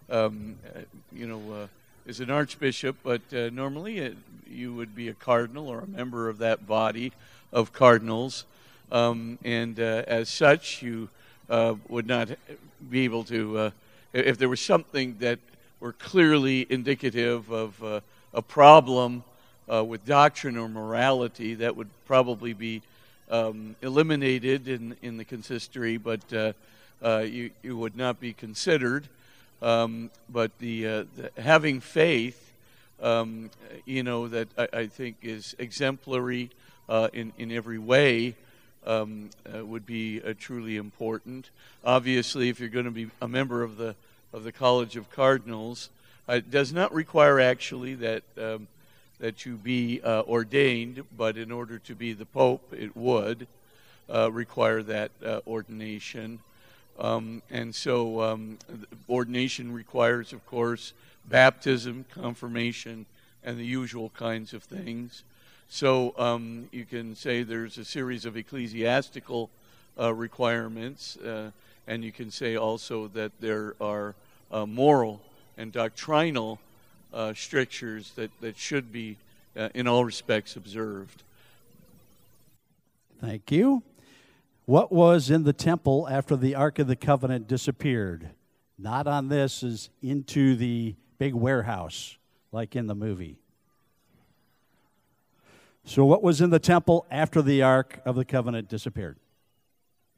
is an archbishop, but normally you would be a cardinal or a member of that body of cardinals. And as such, you would not be able to, if there was something that were clearly indicative of a problem with doctrine or morality, that would probably be eliminated in the consistory, but you would not be considered. But the having faith, that I think is exemplary in every way, would be truly important. Obviously, if you're going to be a member of the College of Cardinals, it does not require actually that you be ordained, but in order to be the Pope, it would require that ordination. And so ordination requires, of course, baptism, confirmation, and the usual kinds of things. So you can say there's a series of ecclesiastical requirements, and you can say also that there are moral and doctrinal strictures that should be, in all respects, observed. Thank you. What was in the temple after the Ark of the Covenant disappeared? Not on this, is into the big warehouse, like in the movie. So what was in the temple after the Ark of the Covenant disappeared?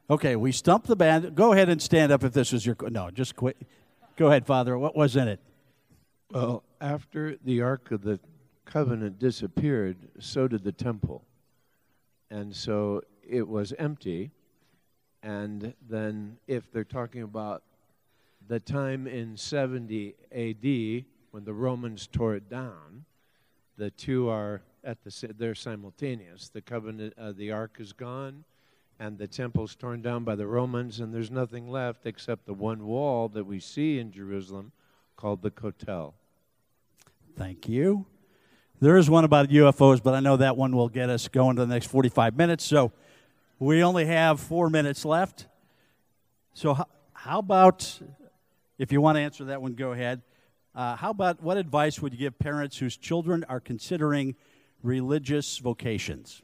Okay, we stumped the band. Go ahead and stand up if this is your... No, just quit. Go ahead, Father. What was in it? Well, after the Ark of the Covenant disappeared, so did the temple. And so it was empty. And then if they're talking about the time in 70 A.D. when the Romans tore it down, the two are they're simultaneous. The covenant, the Ark is gone, and the temple's torn down by the Romans, and there's nothing left except the one wall that we see in Jerusalem called the Kotel. Thank you. There is one about UFOs, but I know that one will get us going to the next 45 minutes, so we only have 4 minutes left. So how about, if you want to answer that one, go ahead. How about, what advice would you give parents whose children are considering religious vocations?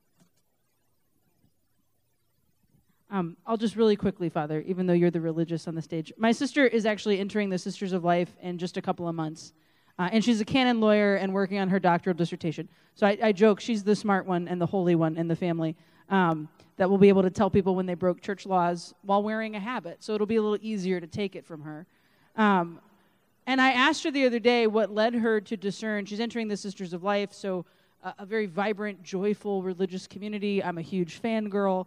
I'll just really quickly, Father, even though you're the religious on the stage. My sister is actually entering the Sisters of Life in just a couple of months. And she's a canon lawyer and working on her doctoral dissertation. So I joke she's the smart one and the holy one in the family that will be able to tell people when they broke church laws while wearing a habit. So it'll be a little easier to take it from her. And I asked her the other day what led her to discern. She's entering the Sisters of Life, so a very vibrant, joyful religious community. I'm a huge fangirl.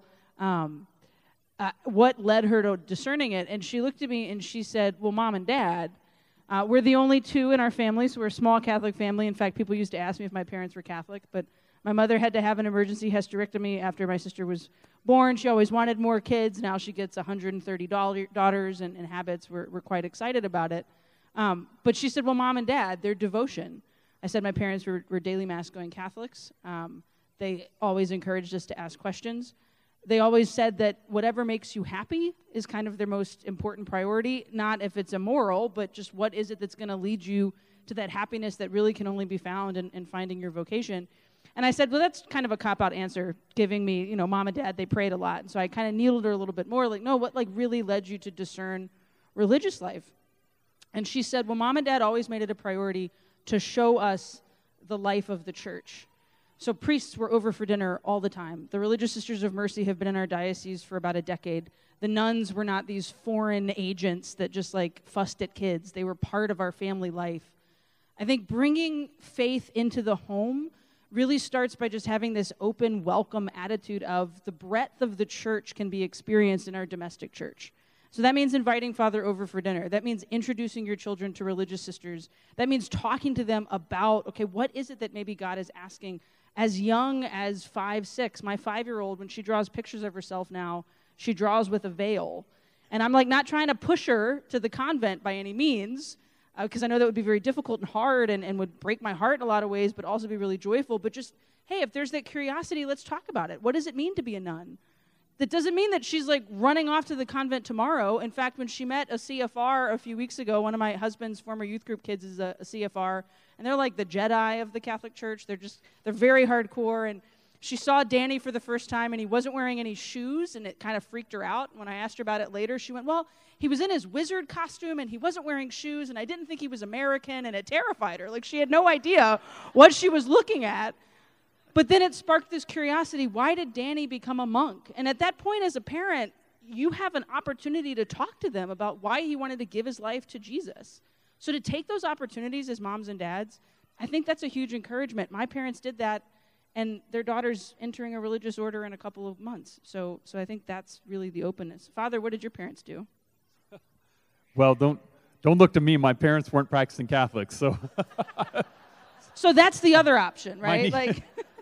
What led her to discerning it? And she looked at me and she said, well, Mom and Dad, we're the only two in our family, so we're a small Catholic family. In fact, people used to ask me if my parents were Catholic, but my mother had to have an emergency hysterectomy after my sister was born. She always wanted more kids. Now she gets 130 daughters and habits. We're quite excited about it. But she said, well, Mom and Dad, their devotion. I said my parents were daily Mass-going Catholics. They always encouraged us to ask questions. They always said that whatever makes you happy is kind of their most important priority, not if it's immoral, but just what is it that's going to lead you to that happiness that really can only be found in finding your vocation. And I said, well, that's kind of a cop-out answer, giving me, Mom and Dad, they prayed a lot. And so I kind of needled her a little bit more, like, no, what really led you to discern religious life? And she said, well, Mom and Dad always made it a priority to show us the life of the church. So priests were over for dinner all the time. The Religious Sisters of Mercy have been in our diocese for about a decade. The nuns were not these foreign agents that just fussed at kids. They were part of our family life. I think bringing faith into the home really starts by just having this open, welcome attitude of the breadth of the church can be experienced in our domestic church. So that means inviting Father over for dinner. That means introducing your children to religious sisters. That means talking to them about, okay, what is it that maybe God is asking as young as 5, 6. My 5-year-old, when she draws pictures of herself now, she draws with a veil. And I'm not trying to push her to the convent by any means, because I know that would be very difficult and hard and would break my heart in a lot of ways, but also be really joyful. But just, hey, if there's that curiosity, let's talk about it. What does it mean to be a nun? That doesn't mean that she's running off to the convent tomorrow. In fact, when she met a CFR a few weeks ago, one of my husband's former youth group kids is a CFR, and they're like the Jedi of the Catholic Church. They're very hardcore. And she saw Danny for the first time, and he wasn't wearing any shoes, and it kind of freaked her out. When I asked her about it later, she went, well, he was in his wizard costume, and he wasn't wearing shoes, and I didn't think he was American, and it terrified her. She had no idea what she was looking at. But then it sparked this curiosity. Why did Danny become a monk? And at that point, as a parent, you have an opportunity to talk to them about why he wanted to give his life to Jesus. So to take those opportunities as moms and dads, I think that's a huge encouragement. My parents did that, and their daughter's entering a religious order in a couple of months. So I think that's really the openness. Father, what did your parents do? Well, don't look to me. My parents weren't practicing Catholics, so. So that's the other option, right?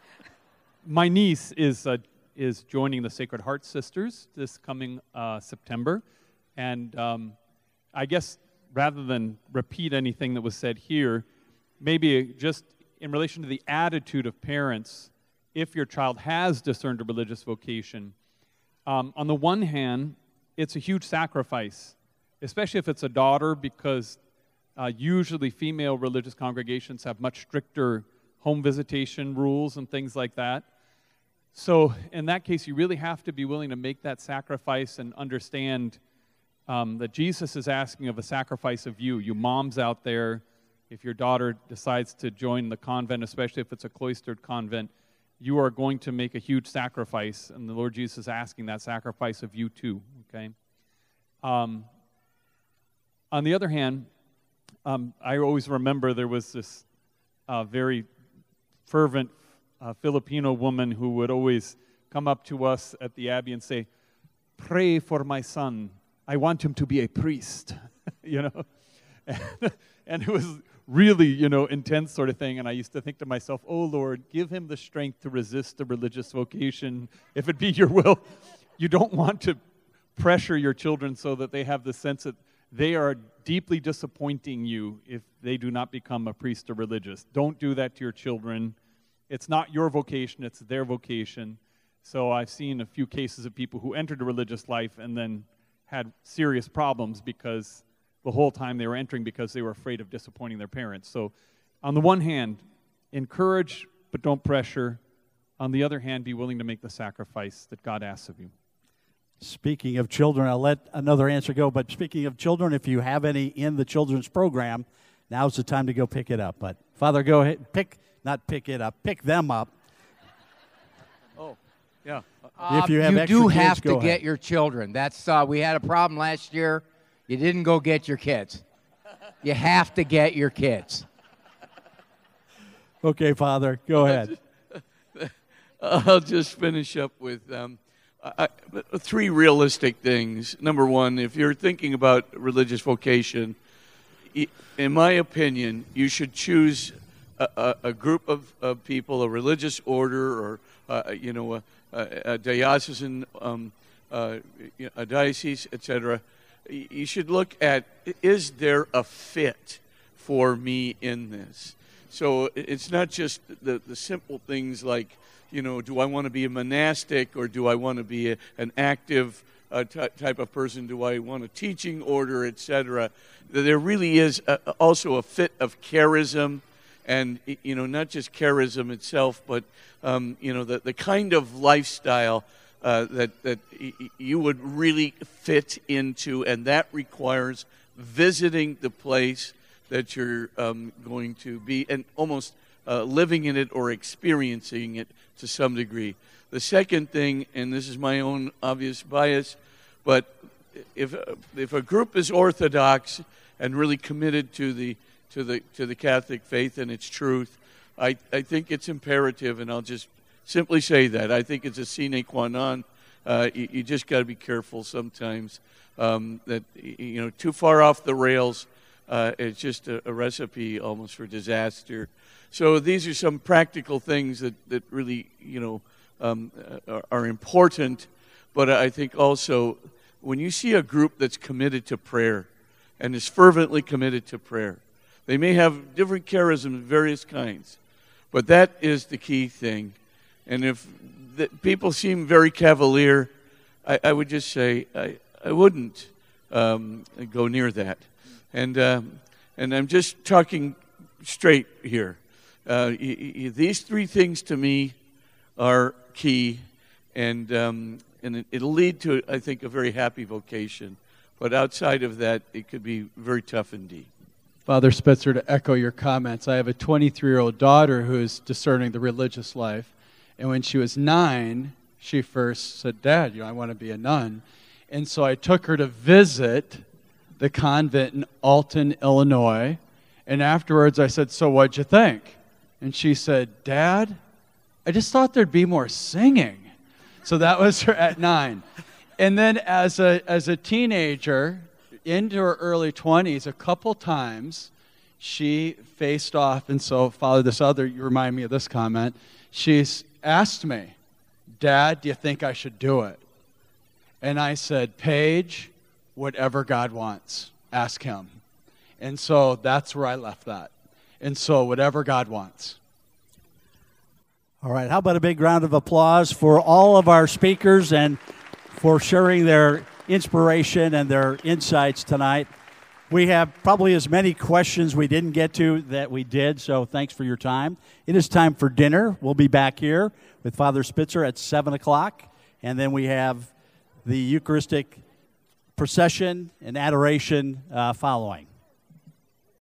My niece is joining the Sacred Heart Sisters this coming September, and I guess rather than repeat anything that was said here, maybe just in relation to the attitude of parents, if your child has discerned a religious vocation, on the one hand, it's a huge sacrifice, especially if it's a daughter, because usually female religious congregations have much stricter home visitation rules and things like that. So in that case, you really have to be willing to make that sacrifice and understand that Jesus is asking of a sacrifice of you moms out there. If your daughter decides to join the convent, especially if it's a cloistered convent, you are going to make a huge sacrifice, and the Lord Jesus is asking that sacrifice of you too, okay? On the other hand, I always remember there was this very fervent Filipino woman who would always come up to us at the Abbey and say, "Pray for my son. I want him to be a priest," you know? And it was really, intense sort of thing. And I used to think to myself, "Oh, Lord, give him the strength to resist the religious vocation, if it be your will." You don't want to pressure your children so that they have the sense that they are deeply disappointing you if they do not become a priest or religious. Don't do that to your children. It's not your vocation, it's their vocation. So I've seen a few cases of people who entered a religious life and then had serious problems because the whole time they were entering because they were afraid of disappointing their parents. So on the one hand, encourage but don't pressure. On the other hand, be willing to make the sacrifice that God asks of you. Speaking of children, I'll let another answer go, but speaking of children, if you have any in the children's program, now's the time to go pick it up. But Father, go ahead, pick them up. Oh, yeah. If you have you extra do kids, have go to ahead. get your children. That's we had a problem last year. You didn't go get your kids. You have to get your kids. Okay, Father, go ahead. I'll just finish up with three realistic things. Number one, if you're thinking about religious vocation, in my opinion, you should choose a group of people, a religious order, or a diocesan, a diocese, etc. You should look at, is there a fit for me in this? So it's not just the simple things like, do I want to be a monastic, or do I want to be an active type of person? Do I want a teaching order, etc.? There really is also a fit of charism, and not just charism itself, but the kind of lifestyle that you would really fit into, and that requires visiting the place that you're going to be, and almost living in it or experiencing it to some degree. The second thing, and this is my own obvious bias, but if a group is orthodox and really committed to the Catholic faith and its truth, I think it's imperative, and I'll just simply say that. I think it's a sine qua non. You just got to be careful sometimes that, too far off the rails, it's just a recipe almost for disaster. So these are some practical things that really, are important. But I think also when you see a group that's committed to prayer and is fervently committed to prayer, they may have different charisms of various kinds, but that is the key thing. And if people seem very cavalier, I would just say I wouldn't go near that. And I'm just talking straight here. These three things to me are key, and it'll lead to, I think, a very happy vocation. But outside of that, it could be very tough indeed. Father Spitzer, to echo your comments, I have a 23-year-old daughter who is discerning the religious life. And when she was 9, she first said, "Dad, I want to be a nun." And so I took her to visit the convent in Alton, Illinois. And afterwards I said, "So what'd you think?" And she said, "Dad, I just thought there'd be more singing." So that was her at 9. And then as a teenager, into her early 20s, a couple times she faced off. And so, Father, you remind me of this comment. She's asked me, "Dad, do you think I should do it?" And I said, "Paige, whatever God wants, ask him." And so that's where I left that. And so whatever God wants. All right, how about a big round of applause for all of our speakers and for sharing their inspiration and their insights tonight. We have probably as many questions we didn't get to that we did, so thanks for your time. It is time for dinner. We'll be back here with Father Spitzer at 7 o'clock, and then we have the Eucharistic procession and adoration following.